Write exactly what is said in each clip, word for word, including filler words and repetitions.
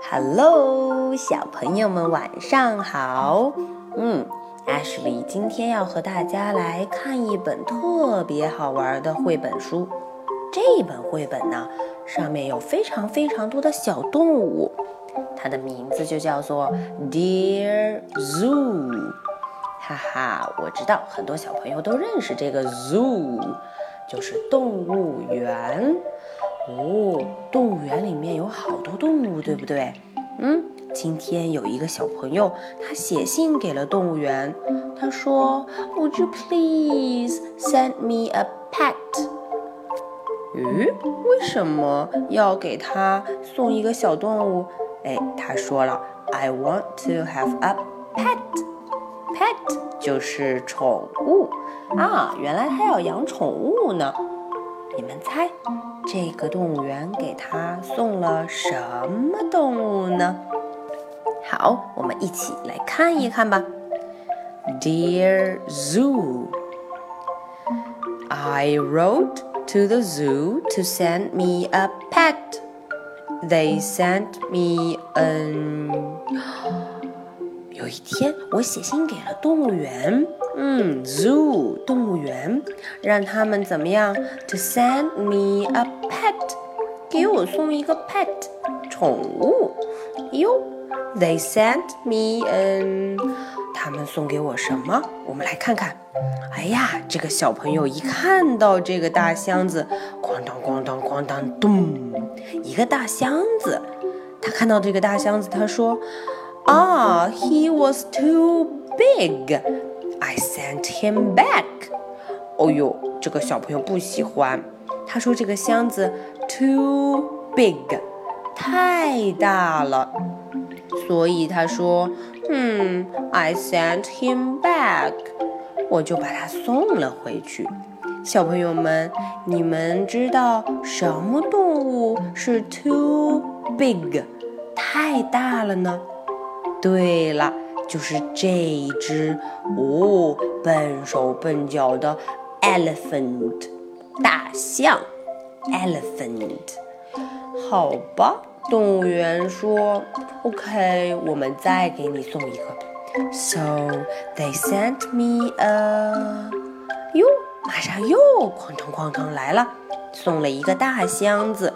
Hello， 小朋友们晚上好。嗯，Ashley 今天要和大家来看一本特别好玩的绘本书。这本绘本呢，上面有非常非常多的小动物，它的名字就叫做 Dear Zoo。哈哈，我知道很多小朋友都认识这个 zoo， 就是动物园。哦，动物园里面有好多动物，对不对？嗯，今天有一个小朋友，他写信给了动物园，他说 Would you please send me a pet？ 咦，为什么要给他送一个小动物？哎，他说了 I want to have a pet。Pet 就是宠物啊，原来他要养宠物呢。你们猜这个动物园给他送了什么动物呢？好，我们一起来看一看吧。 Dear Zoo, I wrote to the zoo to send me a pet. They sent me an 有一天我写信给了动物园，嗯 zoo 动物园，让他们怎么样 to send me a pet， 给我送一个 pet 宠物哟。 They sent me an 他们送给我什么？我们来看看。哎呀，这个小朋友一看到这个大箱子，咣当咣当咣当咚，一个大箱子。他看到这个大箱子，他说Ah, he was too big. I sent him back. 哦呦，这个小朋友不喜欢。他说这个箱子 too big， 太大了。所以他说，嗯 I sent him back， 我就把它送了回去。小朋友们，你们知道什么动物是 too big， 太大了呢？对了，就是这一只哦，笨手笨脚的 elephant 大象 elephant。 好吧，动物园说 OK， 我们再给你送一个。 So they sent me a 哟，马上又哐当哐当来了，送了一个大箱子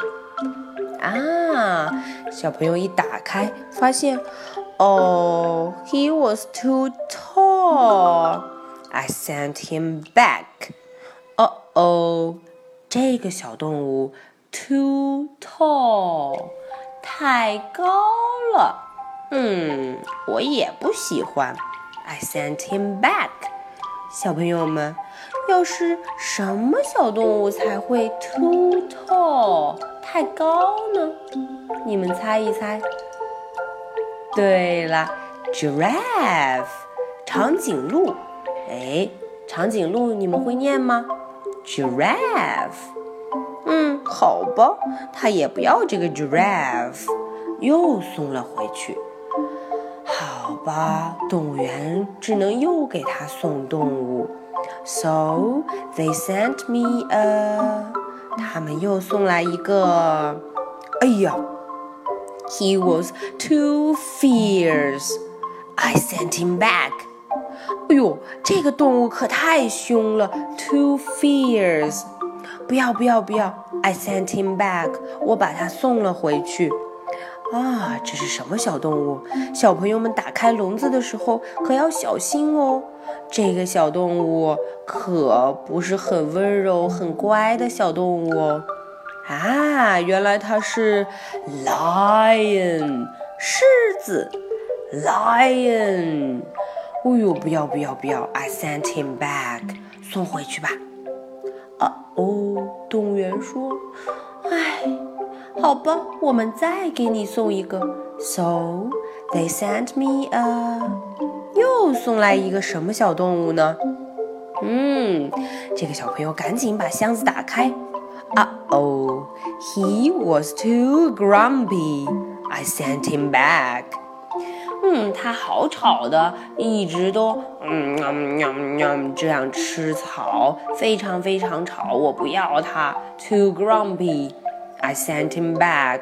啊。小朋友一打开发现Oh, he was too tall. I sent him back. Uh-oh, 这个小动物 too tall， 太高了。嗯，我也不喜欢。I sent him back. 小朋友们，要是什么小动物才会 too tall， 太高呢？你们猜一猜。对了 giraffe 长颈鹿。哎，长颈鹿你们会念吗？ giraffe。 嗯，好吧，他也不要这个 giraffe， 又送了回去。好吧，动物园只能又给他送动物。 So they sent me a 他们又送来一个，哎呀He was too fierce. I sent him back. 哎呦，这个动物可太凶了 ，too fierce。不要不要不要 ！I sent him back. 我把它送了回去。啊，这是什么小动物？小朋友们打开笼子的时候可要小心哦。这个小动物可不是很温柔、很乖的小动物哦。啊，原来它是 lion 狮子 lion。 哦呦，不要不要不要 I sent him back， 送回去吧。啊哦，动物园说，哎，好吧，我们再给你送一个。 So they sent me a 又送来一个什么小动物呢？嗯，这个小朋友赶紧把箱子打开。Uh-oh, he was too grumpy. I sent him back. 嗯，他好吵的，一直都嗯嗯嗯嗯这样吃草，非常非常吵，我不要他。Too grumpy. I sent him back.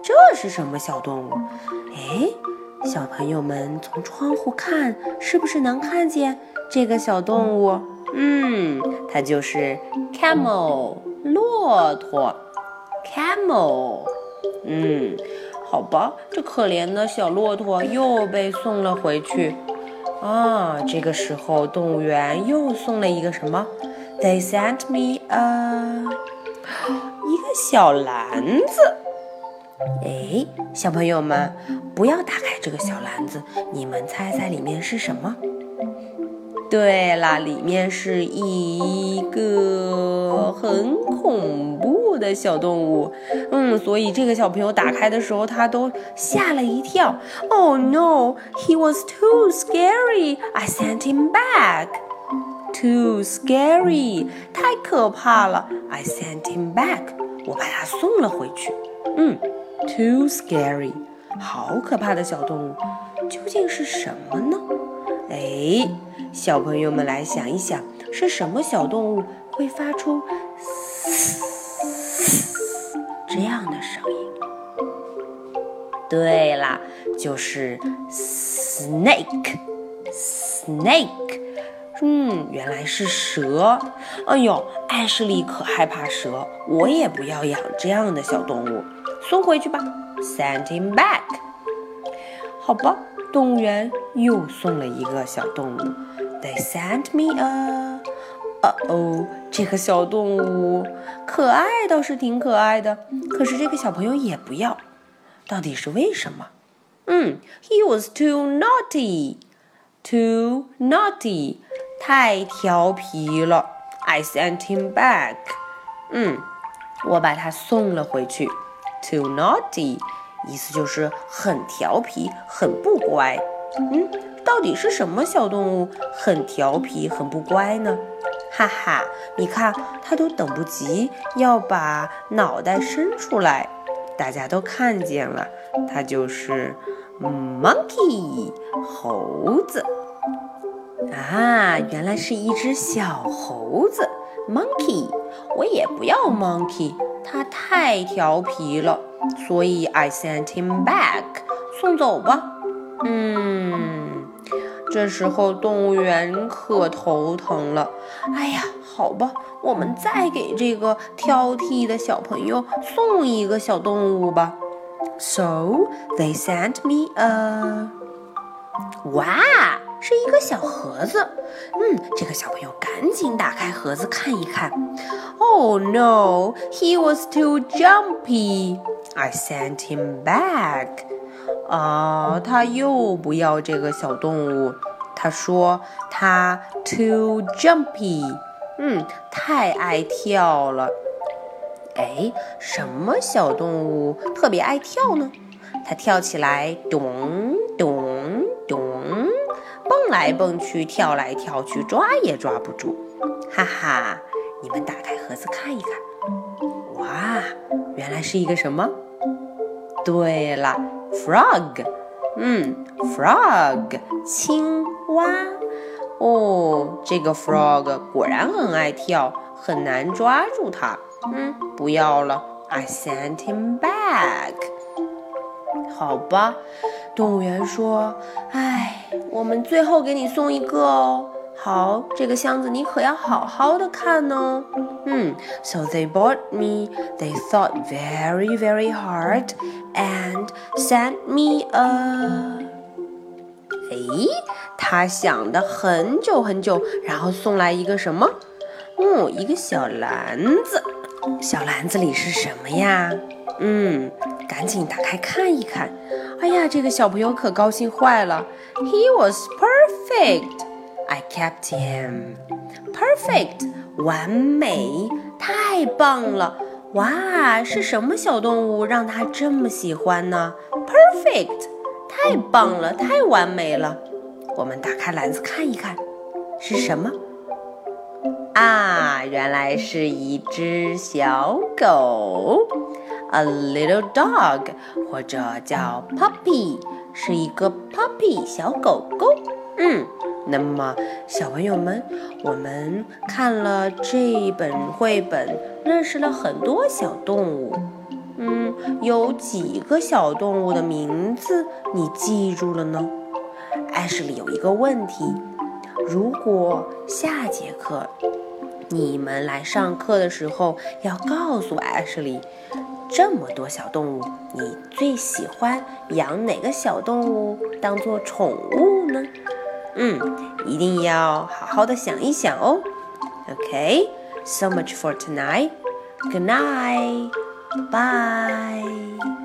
这是什么小动物？哎，小朋友们从窗户看，是不是能看见这个小动物？嗯，它就是 camel， 骆驼 camel。嗯，好吧，这可怜的小骆驼又被送了回去。啊，这个时候动物园又送了一个什么 ？They sent me a 一个小篮子。哎，小朋友们，不要打开这个小篮子，你们猜猜里面是什么？对啦，里面是一个很恐怖的小动物。嗯，所以这个小朋友打开的时候，他都吓了一跳。Oh no, he was too scary. I sent him back. Too scary， 太可怕了。I sent him back， 我把他送了回去。嗯 ，too scary， 好可怕的小动物，究竟是什么呢？哎，小朋友们来想一想，是什么小动物会发出这样的声音？对啦，就是 snake，snake。嗯，原来是蛇。哎呦，艾什莉可害怕蛇，我也不要养这样的小动物，送回去吧 ，send him back。好吧。动物园又送了一个小动物 ，They sent me a…… 哦哦，这个小动物可爱倒是挺可爱的，可是这个小朋友也不要，到底是为什么？嗯 ，He was too naughty, too naughty， 太调皮了。I sent him back， 嗯，我把他送了回去 ，too naughty。意思就是很调皮，很不乖。嗯，到底是什么小动物很调皮，很不乖呢？哈哈，你看，它都等不及要把脑袋伸出来，大家都看见了，它就是 monkey， 猴子。啊，原来是一只小猴子 monkey， 我也不要 monkey， 它太调皮了。所以 I sent him back， 送走吧。嗯，这时候动物园可头疼了。哎呀，好吧，我们再给这个挑剔的小朋友送一个小动物吧。So they sent me a…… 哇，是一个小盒子。嗯，这个小朋友赶紧打开盒子看一看。Oh no, he was too jumpy.I sent him back. 啊，他又不要这个小动物。他说他 too jumpy， 嗯，太爱跳了。哎，什么小动物特别爱跳呢？它跳起来咚咚咚，蹦来蹦去，跳来跳去，抓也抓不住。哈哈，你们打开盒子看一看。哇，原来是一个什么？对了 ，frog， 嗯 ，frog， 青蛙。哦，这个 frog 果然很爱跳，很难抓住它。嗯，不要了 ，I sent him back。好吧，动物园说，哎，我们最后给你送一个哦。好，这个箱子你可要好好的看哦。嗯 ，So they bought me. They thought very, very hard and sent me a…… 哎，他想的很久很久，然后送来一个什么？嗯，一个小篮子。小篮子里是什么呀？嗯，赶紧打开看一看。哎呀，这个小朋友可高兴坏了。He was perfect.I kept him. Perfect， 完美，太棒了！哇，是什么小动物让他这么喜欢呢 ？Perfect， 太棒了，太完美了。我们打开篮子看一看，是什么？啊，原来是一只小狗 ，a little dog， 或者叫 puppy， 是一个 puppy 小狗狗。嗯。那么，小朋友们，我们看了这本绘本，认识了很多小动物。 嗯，有几个小动物的名字你记住了呢？艾什莉有一个问题，如果下节课你们来上课的时候，要告诉艾什莉，这么多小动物，你最喜欢养哪个小动物当做宠物呢？嗯，一定要好好的想一想哦。Okay, so much for tonight. Good night. Bye.